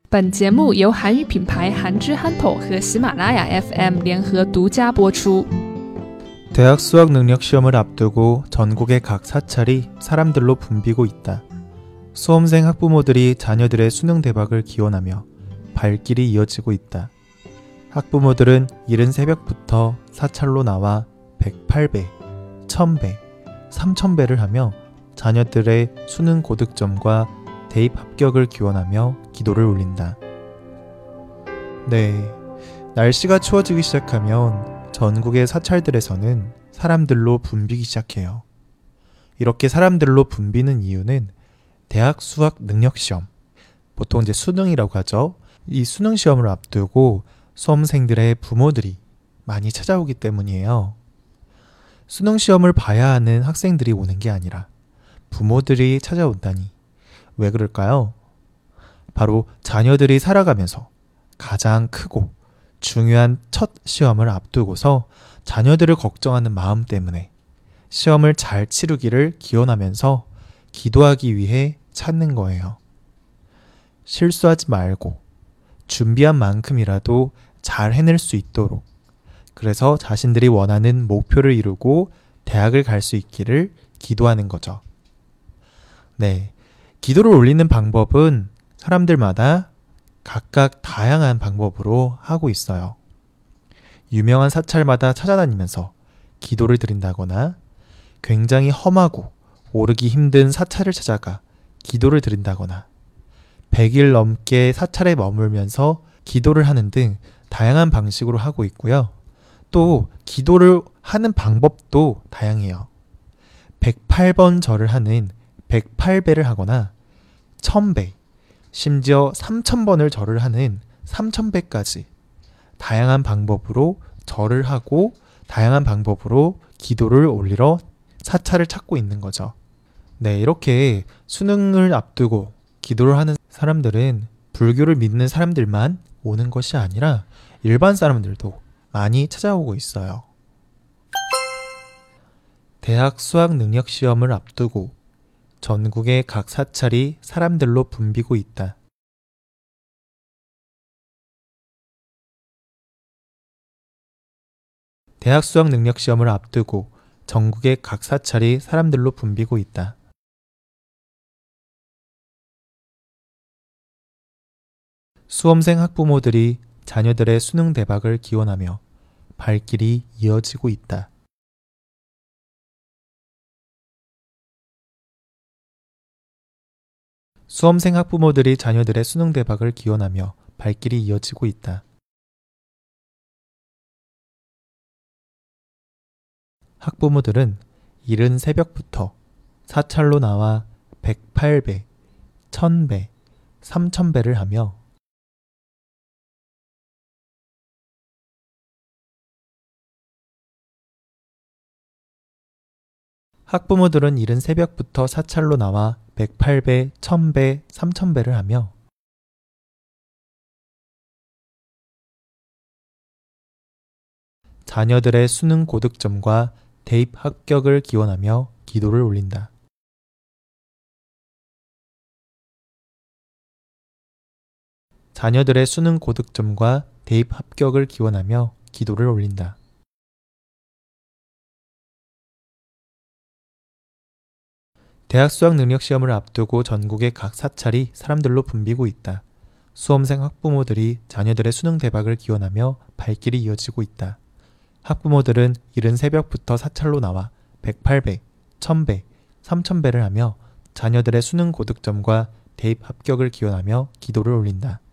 本节目由韩语品牌韩之憨头和喜马拉雅 FM 联合独家播出。 대학 수학 능력 시험을 앞두고 전국의 각 사찰이 사람들로 붐비고 있다. 수험생 학부모들이 자녀들의 수능 대박을 기원하며 발길이 이어지고 있다. 학부모들은 이른 새벽부터 사찰로 나와 108배, 1000배, 3000배를 하며 자녀들의 수능 고득점과 대입 합격을 기원하며 기도를 올린다. 네, 날씨가 추워지기 시작하면 전국의 사찰들에서는 사람들로 붐비기 시작해요. 이렇게 사람들로 붐비는 이유는 대학 수학 능력 시험, 보통 이제 수능이라고 하죠. 이 수능 시험을 앞두고 수험생들의 부모들이 많이 찾아오기 때문이에요. 수능 시험을 봐야 하는 학생들이 오는 게 아니라 부모들이 찾아온다니 왜 그럴까요? 바로 자녀들이 살아가면서 가장 크고 중요한 첫 시험을 앞두고서 자녀들을 걱정하는 마음 때문에 시험을 잘 치르기를 기원하면서 기도하기 위해 찾는 거예요. 실수하지 말고 준비한 만큼이라도 잘 해낼 수 있도록, 그래서 자신들이 원하는 목표를 이루고 대학을 갈 수 있기를 기도하는 거죠. 네, 기도를 올리는 방법은 사람들마다 각각 다양한 방법으로 하고 있어요. 유명한 사찰마다 찾아다니면서 기도를 드린다거나 굉장히 험하고 오르기 힘든 사찰을 찾아가 기도를 드린다거나 100일 넘게 사찰에 머물면서 기도를 하는 등 다양한 방식으로 하고 있고요. 또 기도를 하는 방법도 다양해요. 108번 절을 하는 108배를 하거나 1000배, 심지어 3000번을 절을 하는 3000배까지 다양한 방법으로 절을 하고 다양한 방법으로 기도를 올리러 사찰을 찾고 있는 거죠. 네, 이렇게 수능을 앞두고 기도를 하는 사람들은 불교를 믿는 사람들만 오는 것이 아니라 일반 사람들도 많이 찾아오고 있어요. 대학 수학 능력 시험을 앞두고 전국의 각 사찰이 사람들로 붐비고 있다. 대학 수학 능력 시험을 앞두고 전국의 각 사찰이 사람들로 붐비고 있다. 수험생 학부모들이 자녀들의 수능 대박을 기원하며 발길이 이어지고 있다. 수험생 학부모들이 자녀들의 수능 대박을 기원하며 발길이 이어지고 있다. 학부모들은 이른 새벽부터 사찰로 나와 108배, 1000배, 3000배를 하며 학부모들은 이른 새벽부터 사찰로 나와 108배, 1000배, 3000배를 하며 자녀들의 수능 고득점과 대입 합격을 기원하며 기도를 올린다. 자녀들의 수능 고득점과 대입 합격을 기원하며 기도를 올린다. 대학 수학 능력 시험을 앞두고 전국의 각 사찰이 사람들로 붐비고 있다. 수험생 학부모들이 자녀들의 수능 대박을 기원하며 발길이 이어지고 있다. 학부모들은 이른 새벽부터 사찰로 나와 108배, 1000배, 3000배를 하며 자녀들의 수능 고득점과 대입 합격을 기원하며 기도를 올린다.